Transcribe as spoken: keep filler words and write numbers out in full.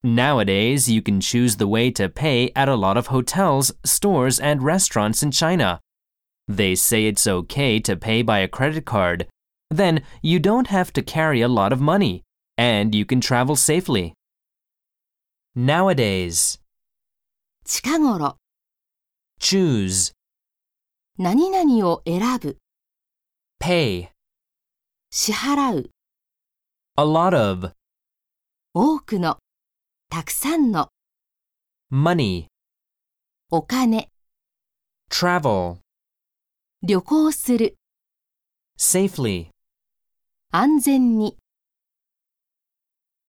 Nowadays, you can choose the way to pay at a lot of hotels, stores, and restaurants in China. They say it's okay to pay by a credit card. Then you don't have to carry a lot of money, and you can travel safely. Nowadays. 近頃 Choose. 何々を選ぶ Pay. 支払う A lot of. 多くのたくさんの Money. お金 Travel. 旅行する Safely. 安全に